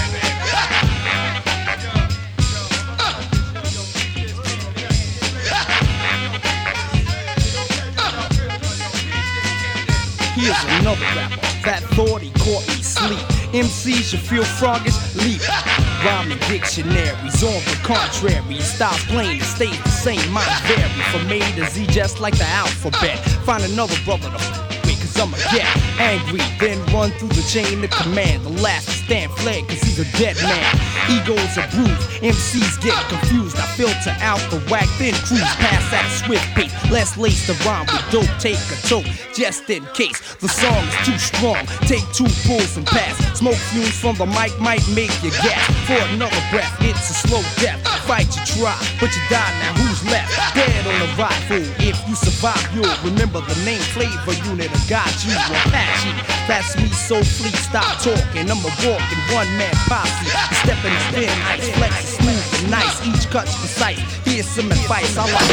Here's another rapper that thought he caught me sleep. MCs should feel froggish, leap. Rhyming dictionaries on the contrary. Stop playing, it stays the same. Mine vary from A to Z, just like the alphabet. Find another brother to with, cause I'ma get angry. Then run through the chain of command. The last to stand fled, cause he's a dead man. Egos are bruised, MCs get confused. I filter out the whack, then cruise past at a swift pace. Let's lace the rhyme with dope, take a toke, just in case the song is too strong. Take 2 pulls and pass. Smoke fumes from the mic might make you gas. For another breath, it's a slow death. Fight you try, but you die now. Who's left? Dead on arrival. If you survive, you'll remember the name Flavor Unit. I got you, Apache. That's me, so fleet. Stop talking. I'm a walking one-man posse. Stepping thin ice, flex is smooth and nice. Each cut's precise. Here's some advice. I like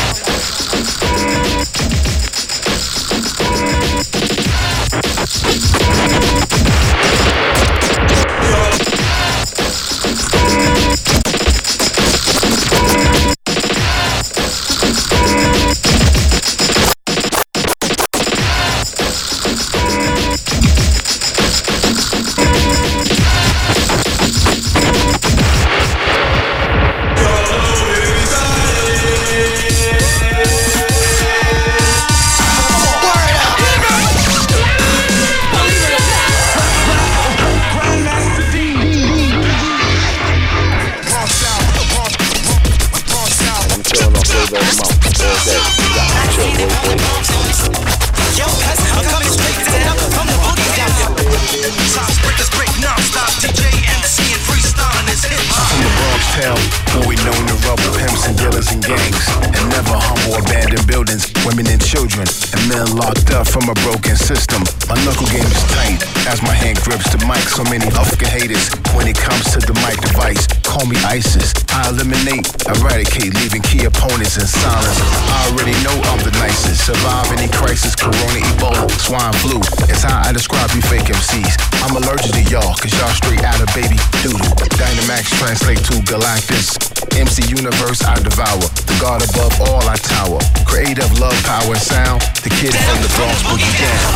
from a broken system. My knuckle game is tight as my hand grips the mic. So many fucking haters when it comes to the mic device. Call me ISIS. I eliminate, eradicate, leaving key opponents in silence. I already know I'm the nicest. Survive any crisis, corona, Ebola, swine flu. It's how I describe you fake MCs. I'm allergic to y'all, cause y'all straight out of baby doodle. Dynamax translate to Galactus. MC Universe I devour. The God above all I tower. Creative love, power, and sound. The kid from the Bronx boogie down.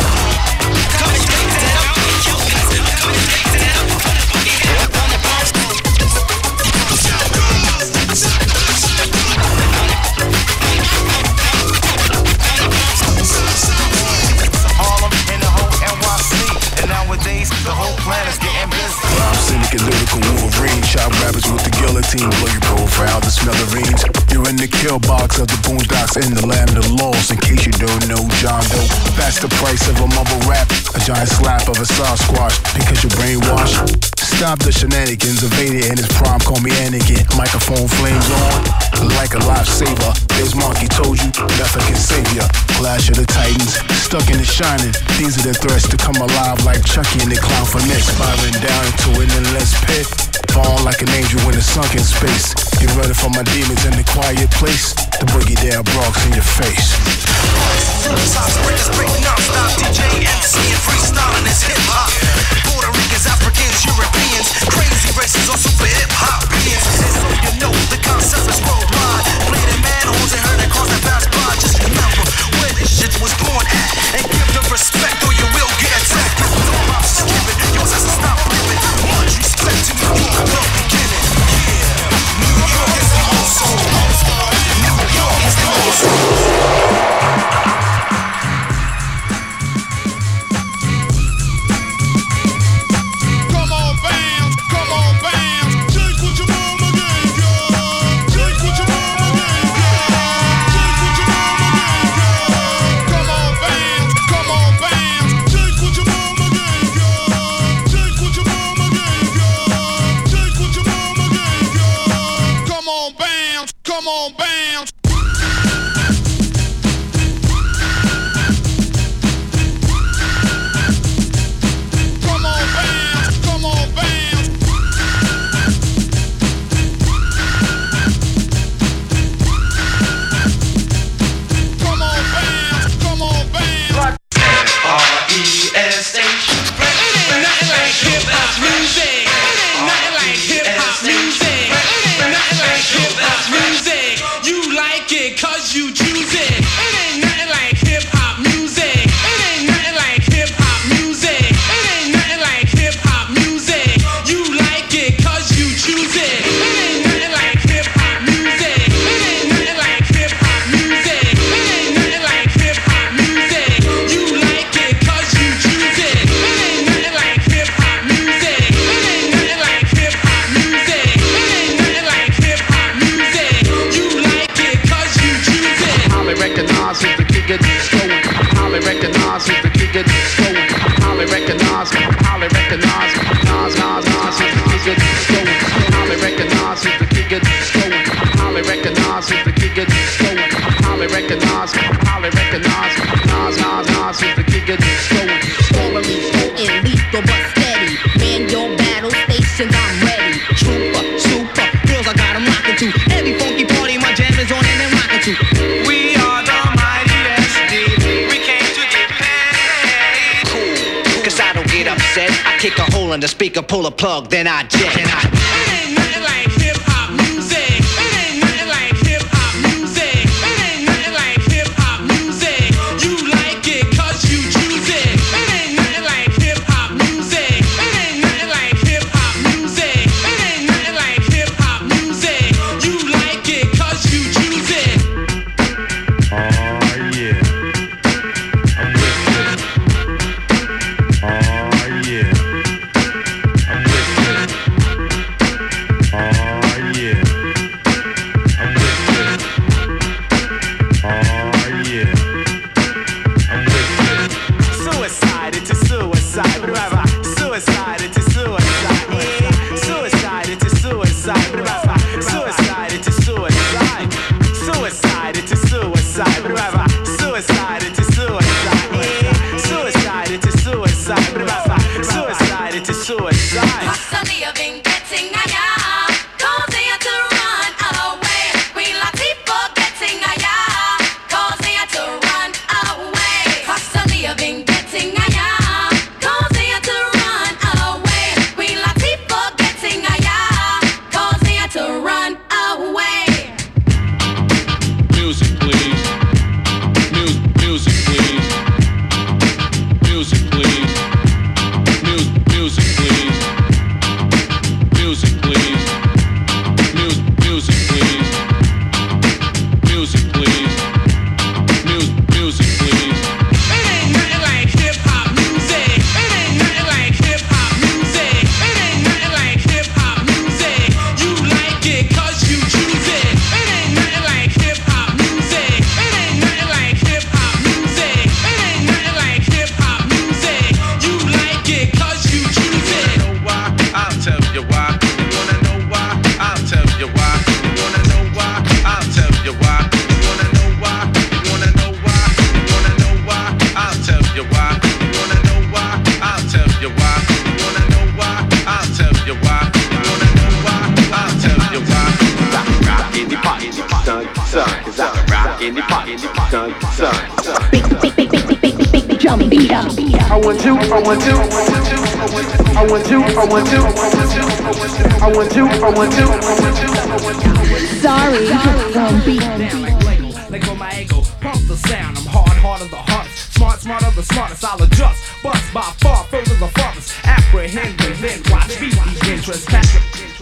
Harlem and the whole NYC. And nowadays the whole planet's getting busy. I'm cynic and lyrical Wolverine. Chop rappers with the guillotine. Blow your profile, the smithereens. You're in the kill box of the boondocks in the land of laws. In case you don't know, John Doe. That's the price of a mumble rap. A giant slap of a Sasquatch. Because you're brainwashed. Stop the shenanigans, Vader in his prime, call me Anakin. Microphone flames on, like a lifesaver. As Monkey told you, nothing can save ya. Clash of the Titans, stuck in the shining. These are the threats to come alive like Chucky and the clown for next. Spiraling down into an endless pit. Fall like an angel in a sunken space. Get ready for my demons in the quiet place. The boogie down Bronx in your face. Philosophical breakers break non-stop. DJ, MC, and freestyling is hip-hop. Puerto Ricans, Africans, Europeans, crazy races on super hip-hop beings. And so you know the concept is worldwide. Play the manholes and heard the cars that pass by. Just remember where this shit was born at. And give the respect or you will get attacked. If no pops is given, yours has to stop living. Much respect to New York, the beginning. Yeah, New York is the old soul. New York is the old soul. Kick a hole in the speaker, pull a plug, then I jet. son, son. Drum beat up. I want you, I want you, I want you, I want you, I want you, I want you. Sorry, drum beat. Let go my ego, pump the sound. I'm hard of the hardest, smart of the smartest. I'll adjust, bust by far further the farthest. Apprehend and then watch me begin trespassing.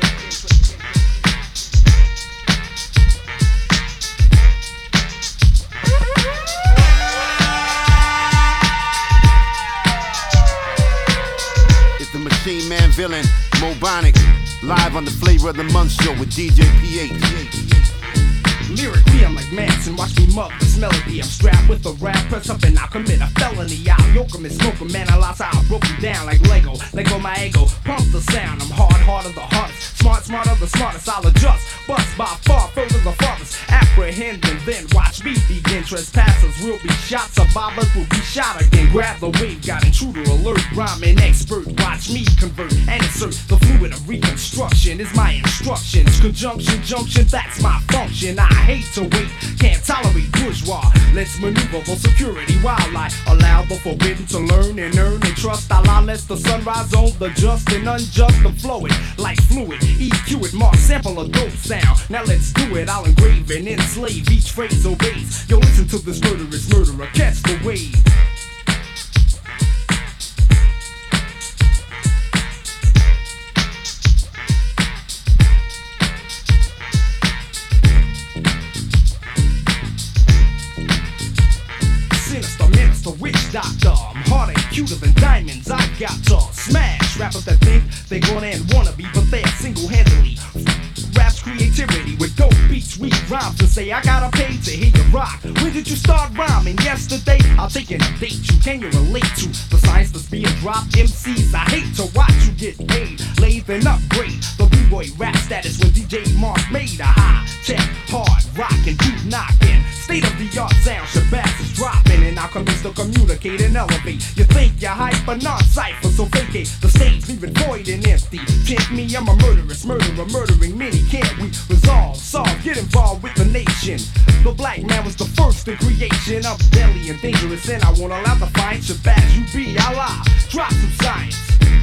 It's the Machine Man villain, Mobonic, live on the Flavor of the Month show with DJ PH. Lyrically, I'm like Manson, watch me mug this melody. I'm strapped with a rap, press up and I'll commit a felony. I'll yoke 'em and smoke 'em, man, I lost how I broke 'em down like Lego. Let go my ego, pump the sound. I'm hard of the hardest, smart of the smartest. I'll adjust, bust by far further the farthest. Apprehend and then watch me begin. Trespassers will be shot, survivors will be shot again. Grab the wave, got intruder alert, rhyming expert. Watch me convert and insert the fluid of reconstruction is my instructions. Conjunction, junction, that's my function. I hate to wait, can't tolerate bourgeois. Let's maneuver for security while I allow the forbidden to learn and earn and trust. Allah lets the sunrise on the just and unjust to flow it like fluid. EQ it, mark, sample a dope sound. Now let's do it, I'll engrave and enslave. Each phrase obeys. Yo, listen to this murderous murderer, catch the wave. Minister, witch doctor. I'm harder and cuter than diamonds. I got to smash rappers that think they gonna and wanna be, but they're single-handedly. Rap's creativity with dope beats, we rhymes to say I gotta pay to hear you rock. When did you start rhyming? Yesterday? I'll take an date you. Can you relate to the science that's being dropped? MCs, I hate to watch you get paid. Lathe and upgrade the B-boy rap status when DJ Mark made a high check, hard rockin', boot knockin'. State of the art sound, Shabazz is dropping, and alchemists to communicate and elevate. You think you're hype, but not cipher, so vacate the stage, leave it void and empty. Tempt me, I'm a murderous murderer, murdering many. Can't we resolve, solve, get involved with the nation? The black man was the first in creation. I'm deadly and dangerous, and I won't allow the fight. Shabazz, you be Allah, drop some science.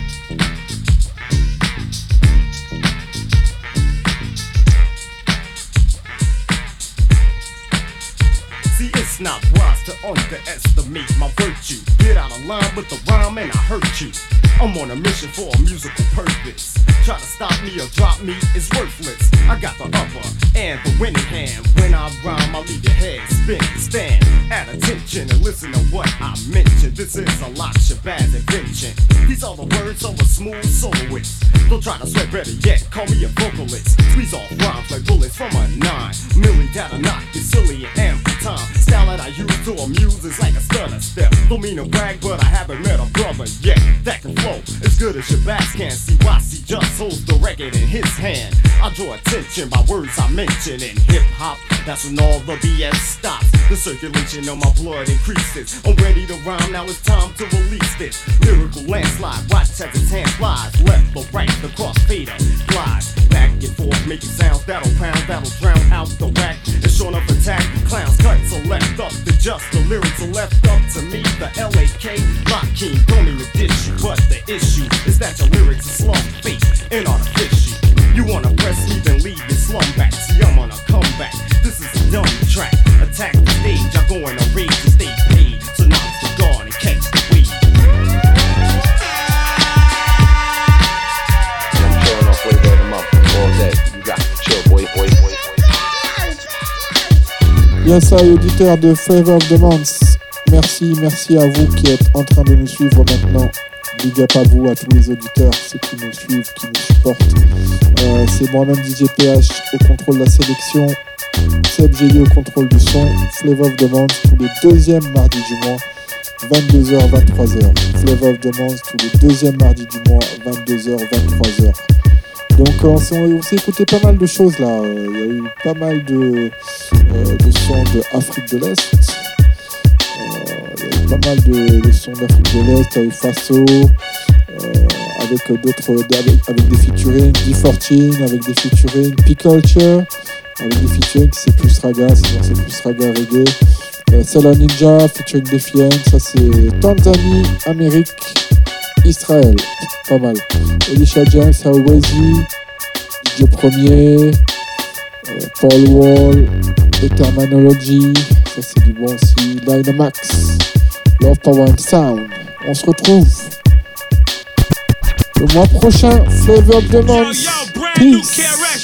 See, it's not wise to underestimate my virtue. Get out of line with the rhyme and I hurt you. I'm on a mission for a musical purpose. Try to stop me or drop me is worthless. I got the upper and the winning hand. When I rhyme, I leave your head spinning. Stand at attention and listen to what I mention. This is a lot Shabazz invention. These are the words of a smooth soloist. Don't try to sweat, better yet, call me a vocalist. Squeeze off rhymes like bullets from a 9 milli that'll knock you silly and ample time. Style that I use to amuse is like a stutter step. Don't mean to brag, but I haven't met a brother yet that can flow as good as Shabazz can. See why he just holds the record in his hand. I draw attention by words I mention in hip-hop. That's when all the BS stops. The circulation of my blood increases. I'm ready to rhyme, now it's time to release this lyrical landslide. Watch as its hand flies left or right, the crossfader glides back and forth, making sounds that'll pound, that'll drown out the whack. It's short of attack, clowns cuts are left up to just the lyrics are left up to me. The LAK Lock King, don't mean to dish you, but the issue is that your lyrics are slum fake and artificial. You wanna press me, then leave your slum back. See, I'm on a comeback. This is a dumb track. Attack the stage, I go in a rage and stay paid. So knock the guard and catch the weed. I'm showing off Flavor of the Month all day. You got to chill, boy. Yes, auditeurs de Flavor of the Month. Merci à vous qui êtes en train de nous suivre maintenant. Big up à vous, à tous les auditeurs, ceux qui nous suivent, qui nous supportent. C'est moi-même DJ PH au contrôle de la sélection, Seb Gélier au contrôle du son, Flavor of the Month tous les deuxièmes mardis du mois, 22h, 23h. Flavor of the Month tous les deuxièmes mardis du mois, 22h, 23h. Donc on s'est écouté pas mal de choses là, il y a eu pas mal de sons d'Afrique de l'Est. Pas mal de sons d'Afrique de l'Est avec Faso, avec des featuring, D14, avec des featuring, P-Culture, avec des featuring c'est plus raga, sinon c'est plus raga reggae. Salah Ninja featuring Defiant, ça c'est Tanzanie, Amérique, Israël, pas mal. Elisha James, Hawezi, DJ Premier, Paul Wall, Ethermanology, ça c'est du bon aussi. Dynamax, Love Power and Sound. On se retrouve le mois prochain, Flavor of the Month. Peace.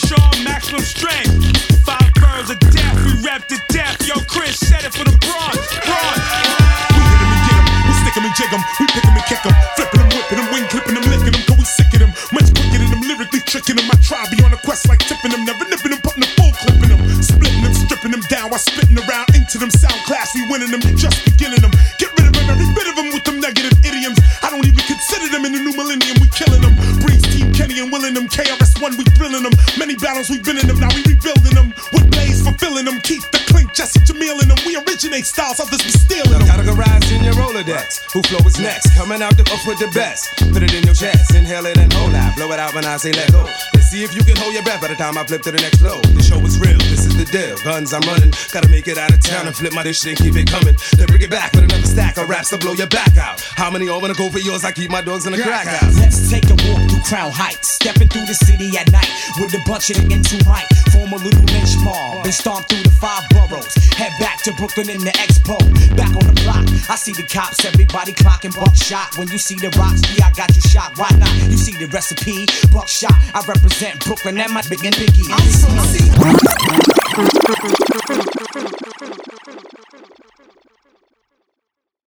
Of death, we rap to death. Yo, Chris said it for the broad. We hit him and get him, we stick him and jig him, we pick him and kick him, flipping him, whipping him, wing clipping him, licking him, cause we sick at him. Much quicker than him, lyrically tricking him. I try be on a quest like tipping him, never nipping him, putting a full clipping him, splitting him, stripping him down while spitting around into them sound class. We winning them, you just beginning them. Get rid of him, every bit of them with them negative idioms. I don't even consider them in the new millennium. We killing them. Breeze Team Kenny and Willing them. KRS-One, we thrilling them. Many battles we've been in them, now we rebuilding them. With Blaze fulfilling them. Keep the clink, Jesse Jamil in them. We originate styles, others be stealing them. Categorized in your Rolodex. Who flow is next? Coming out the up with the best. Put it in your chest, inhale it and hold out. Blow it out when I say let go. Let's see if you can hold your breath by the time I flip to the next flow. The show is real, this is the deal. Guns I'm running, gotta make it out of town and flip my dish and keep it coming. Then bring it back with another stack of raps to blow your back out. How many all wanna go for yours? I keep my dogs in the crack house. Let's take a walk through Crown Heights, stepping through the city at night with a bunch of the into right. Form a little lynch mob and stomp through the 5 boroughs. Head back to Brooklyn in the Expo. Back on the block, I see the cops, everybody clocking buckshot. When you see the rocks, yeah, I got you shot. Why not? You see the recipe, buckshot. I represent Brooklyn and my big and biggie. I'm from